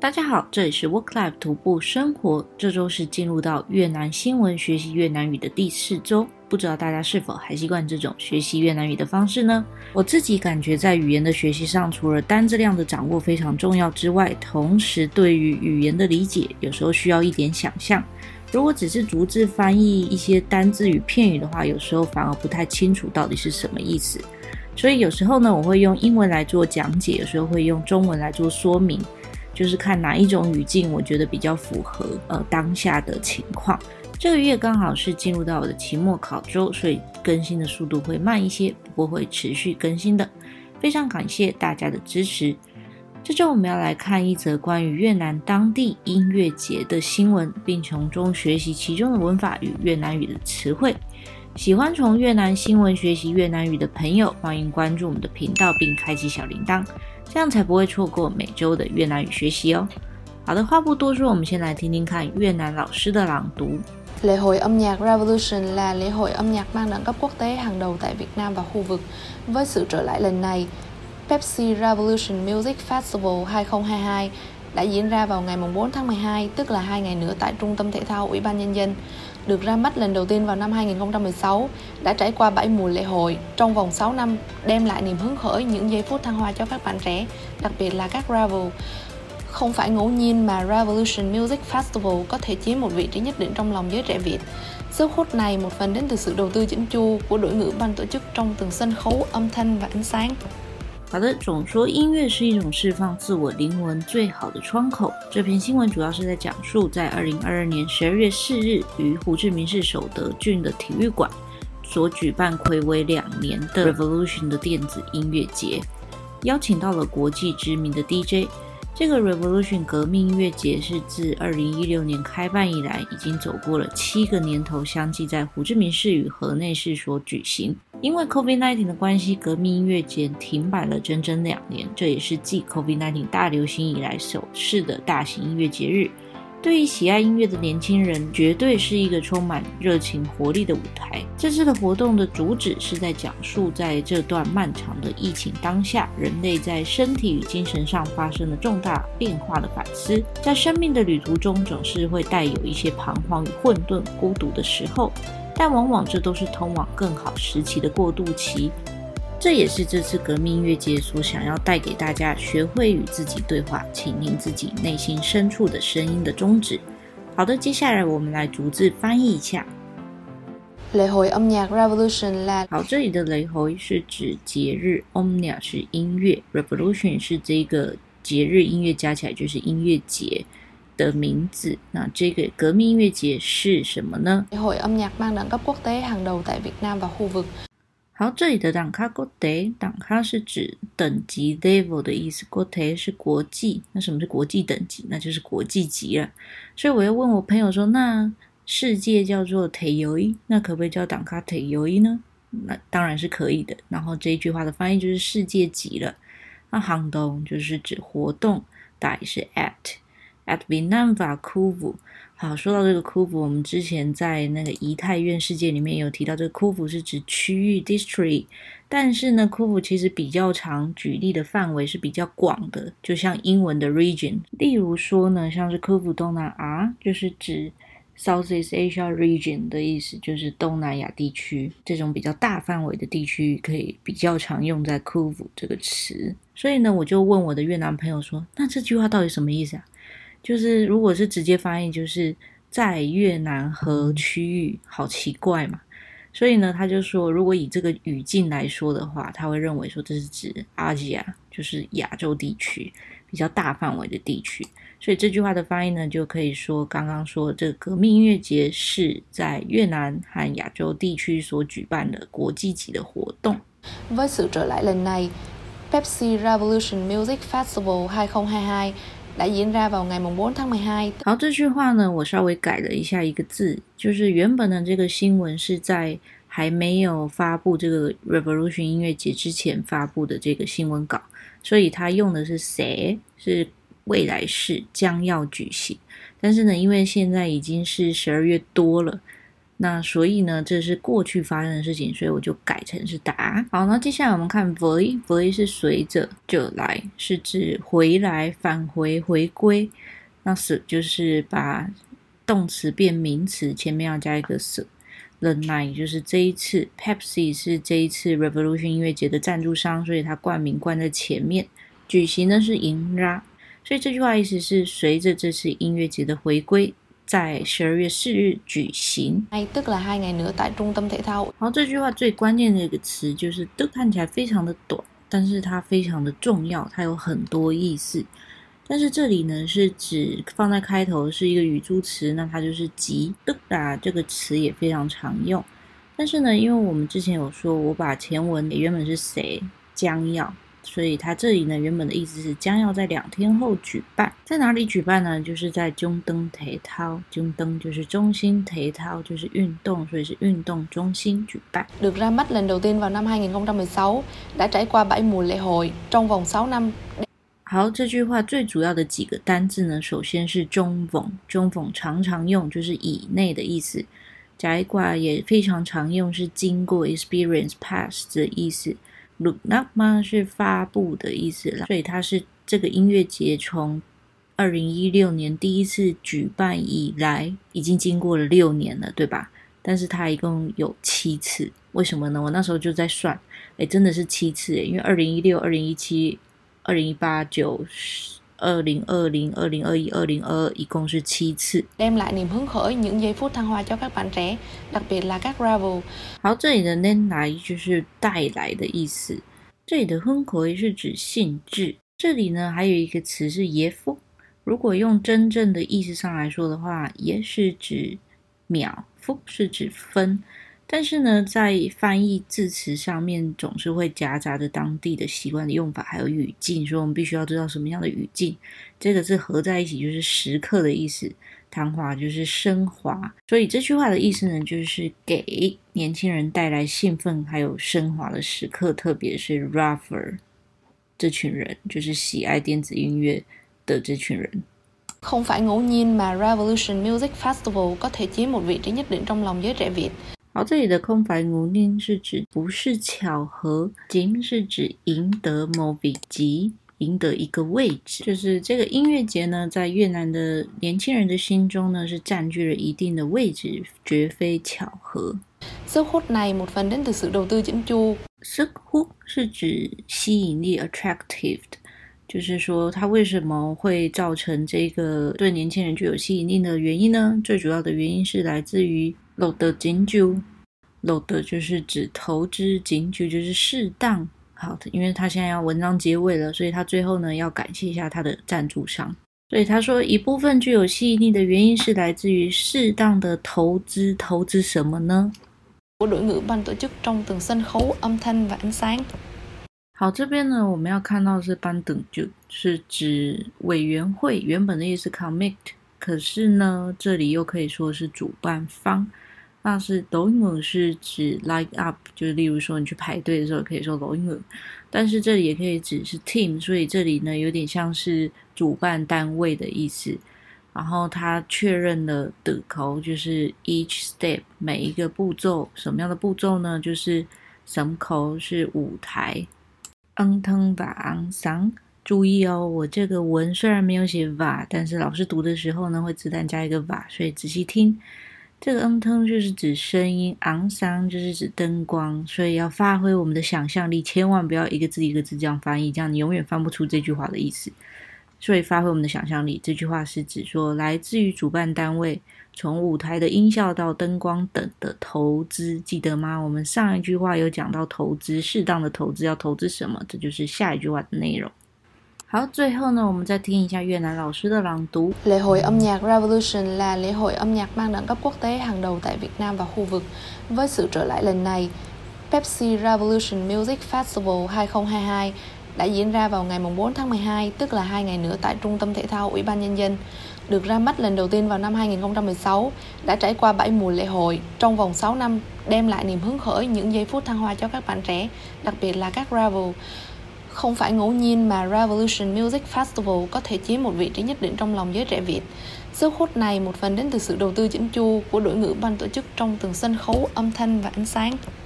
大家好，這裡是 Work Life 徒步生活。這周是進入到越南新聞學習越南語的第4周，不知道大家是否還習慣這種學習越南語的方式呢？我自己感覺在語言的學習上，除了單字量的掌握非常重要之外，同時對於語言的理解有時候需要一點想象。如果只是逐字翻譯一些單字與片語的話，有時候反而不太清楚到底是什麼意思。所以有時候呢，我會用英文來做講解，有時候會用中文來做說明。就是看哪一種語境我覺得比較符合當下的情況。這個月剛好是進入到我的期末考周，所以更新的速度會慢一些，不過會持續更新的。非常感謝大家的支持。這周我們要來看一則關於越南當地音樂節的新聞，並從中學習其中的文法與越南語的詞彙。喜歡從越南新聞學習越南語的朋友，歡迎關注我們的頻道並開啟小鈴鐺，這樣才不會錯過每周的越南語學習哦。好的，話不多說，我們先來聽聽看越南老師的朗讀。 Lễ hội âm nhạc Revolution là lễ hội âm nhạc mang đẳng cấp quốc tế hàng đầu tại Việt Nam và khu vực. Với sự trở lại lần này, Pepsi Revolution Music Festival 2022 đã diễn ra vào ngày 4 tháng 12, tức là 2 ngày nữa tại Trung tâm Thể thao Ủy ban Nhân dân. Được ra mắt lần đầu tiên vào năm 2016, đã trải qua 7 mùa lễ hội trong vòng 6 năm, đem lại niềm hứng khởi, những giây phút thăng hoa cho các bạn trẻ, đặc biệt là các Rebel. Không phải ngẫu nhiên mà Revolution Music Festival có thể chiếm một vị trí nhất định trong lòng giới trẻ Việt. Sức hút này một phần đến từ sự đầu tư chỉnh chu của đội ngũ ban tổ chức trong từng sân khấu, âm thanh và ánh sáng. 好的，總說音樂是一種釋放自我靈魂最好的窗口。這篇新聞主要是在講述在2022年12月4日於胡志明市守德郡的體育館所舉辦睽違2年的 Revolution 的電子音樂節，邀請到了國際知名的 DJ。這個 Revolution 革命音樂節是自2016年開辦以來，已經走過了7個年頭，相繼在胡志明市與河內市所舉行。因為 COVID-19 的關係，革命音樂節停擺了整整2年，這也是繼 COVID-19 大流行以來首次的大型音樂節日。對於喜愛音樂的年輕人，絕對是一個充滿熱情活力的舞台。這次的活動的主旨是在講述在這段漫長的疫情當下，人類在身體與精神上發生了重大變化的反思。在生命的旅途中，總是會帶有一些彷徨與混沌、孤獨的時候，但往往這都是通往更好時期的過渡期。這也是這次革命音樂節所想要帶給大家學會與自己對話，傾聽自己內心深處的聲音的宗旨。好的，接下來我們來逐字翻譯一下。 Lễ hội âm nhạc Revolution là 好，這裡的lễ hội是指節日，âm nhạc是音樂， Revolution 是這個節日音樂加起來就是音樂節的名字。那這個革命音樂節是什麼呢？ Lễ hội âm nhạc mang đẳng cấp quốc tế hàng đầu tại Việt Nam và khu vực。 好，這裡的đẳng cấp quốc tế，đẳng cấp是指等級 level 的意思，國tế是國際。那什麼是國際等級？那就是國際級了。所以我又問我朋友說，那世界叫做thế giới，那可不可以叫đẳng cấp thế giới呢？那當然是可以的。然後這一句話的翻譯就是世界級了。那行動就是指活動，大是 at Việt Nam và khu vực。好，說到這個khu vực，我們之前在那個怡泰院世界裡面有提到，這個khu vực是指區域 district， 但是呢，khu vực其實比較常舉例的範圍是比較廣的，就像英文的 region。例如說呢，像是khu vực東南亞，就是指 Southeast Asia region 的意思，就是東南亞地區，這種比較大範圍的地區可以比較常用在khu vực這個詞。所以呢，我就問我的越南朋友說，那這句話到底什麼意思啊？就是如果是直接翻譯，就是在越南和區域，好奇怪嘛。所以呢，他就說，如果以這個語境來說的話，他會認為說這是指 Asia， 就是亞洲地區，比較大範圍的地區。所以這句話的翻譯呢，就可以說剛剛說這個革命音樂節是在越南和亞洲地區所舉辦的國際級的活動。 Với sự trở lại lần này, Pepsi Revolution Music Festival 2022đã diễn ra vào ngày 4 tháng 12。 好，這句話呢，我稍微改了一下一個字，就是原本的這個新聞是在還沒有發布這個 Revolution 音樂節之前發布的這個新聞稿，所以它用的是sẽ，是未來式，將要舉行。但是呢，因為現在已經是12月多了， 那所以呢，這是過去發生的事情，所以我就改成是打。好，那接下來我們看 với 是隨着，trở來是指回來、返回、回歸。那 sự 就是把動詞變名詞，前面要加一個 sự。lần này 就是這一次 ，Pepsi 是這一次 Revolution 音樂節的贊助商，所以它冠名冠在前面。舉行呢是迎ra，所以這句話意思是隨着這次音樂節的回歸，在12月4日舉行。 tức là 2 ngày nữa tại trung tâm thể thao。 好，這句話最關鍵的一個詞就是tức，看起來非常的短，但是它非常的重要，它有很多意思。但是這裡呢是指放在開頭是一個語助詞，那它就是即tức啦，這個詞也非常常用。但是呢，因為我們之前有說，我把前文原本是誰將要，所以它這裡呢原本的意思是將要在2天後舉辦。在哪裡舉辦呢？就是在中燈體操，中燈就是中心，體操就是運動，所以是運動中心舉辦。 Được ra mắt lần đầu tiên vào năm 2016, đã trải qua 7 mùa lễ hội trong vòng 6 năm。 好，這句話最主要的幾個單字呢，首先是中逢，中逢常常用，就是以內的意思。trải qua也非常常用，是經過 experience past 的意思。được ra mắt是發布的意思啦，所以它是這個音樂節從2016年第一次舉辦以來，已經經過了6年了，對吧？但是它一共有7次，為什麼呢？我那時候就在算，真的是7次，因為2016、2017、2018、9、2020、2021、2022一共是7次。 đem lại niềm hứng khởi, những giây phút thăng hoa cho các bạn trẻ, đặc biệt là các Ravel。 好，這裡的đem來就是帶來的意思。這裡的hứng khởi是指興致。這裡呢還有一個詞是耶夫，如果用真正的意思上來說的話，耶是指秒，夫是指分。但是呢，在翻譯字詞上面總是會夾雜着當地的習慣的用法，還有語境，所以我們必須要知道什麼樣的語境。這個字合在一起就是時刻的意思，談話就是升華，所以這句話的意思呢，就是給年輕人帶來興奮還有升華的時刻，特別是 Raver 這群人，就是喜愛電子音樂的這群人。 Không phải ngẫu nhiên mà Revolution Music Festival có thể chiếm một vị trí nhất định trong lòng giới trẻ Việt。 好，這裡的không phải ngẫu nhiên是指不是巧合，chiếm是指贏得某vị trí，贏得一個位置，就是這個音樂節呢，在越南的年輕人的心中呢，是佔據了一定的位置，絕非巧合。 Sức hút này một phần đến từ sự đầu tư chỉnh chu。 sức hút是指吸引力 attractive， 就是說它為什麼會造成這個對年輕人具有吸引力的原因呢？最主要的原因是來自於đầu tư chỉnh chu，đầu tư就是指投資，chỉnh chu就是適當。好的，因為他現在要文章結尾了，所以他最後呢要感謝一下他的贊助商。所以他說一部分具有吸引力的原因是來自於適當的投資，投資什麼呢？ của đội ngũ ban tổ chức trong từng sân khấu âm thanh và ánh sáng。 好，這邊呢我們要看到的是ban tổ chức，是指委員會，原本的意思 commit， 可是呢這裡又可以說是主辦方。那是đội ngũ是指 line up， 就是例如說你去排隊的時候可以說đội ngũ，但是這裡也可以指是 team， 所以這裡呢有點像是主辦單位的意思。然後他確認了的口就是 each step， 每一個步驟，什麼樣的步驟呢？就是sân khấu是舞台。âm thanh và ánh sáng， 注意哦，我這個文雖然沒有寫 và， 但是老師讀的時候呢會自動加一個 và， 所以仔細聽。這個âm thanh就是指聲音，ánh sáng就是指燈光，所以要發揮我們的想象力，千萬不要一個字一個字這樣翻譯，這樣你永遠翻不出這句話的意思。所以發揮我們的想象力，這句話是指說來自於主辦單位，從舞台的音效到燈光等的投資，記得嗎？我們上一句話有講到投資，適當的投資要投資什麼？這就是下一句話的內容。好，最後呢，我們再聽一下越南老師的朗讀。 Lễ hội âm nhạc Revolution là lễ hội âm nhạc mang đẳng cấp quốc tế hàng đầu tại Việt Nam và khu vực. Với sự trở lại lần này, Pepsi Revolution Music Festival 2022 đã diễn ra vào ngày 4 tháng 12, tức là 2 ngày nữa tại Trung tâm Thể thao Ủy ban Nhân dân. Được ra mắt lần đầu tiên vào năm 2016, đã trải qua 7 mùa lễ hội trong vòng 6 năm, đem lại niềm hứng khởi, những giây phút thăng hoa cho các bạn trẻ, đặc biệt là các Ravel. Không phải ngẫu nhiên mà Revolution Music Festival có thể chiếm một vị trí nhất định trong lòng giới trẻ Việt. Sức hút này một phần đến từ sự đầu tư chỉnh chu của đội ngũ ban tổ chức trong từng sân khấu, âm thanh và ánh sáng.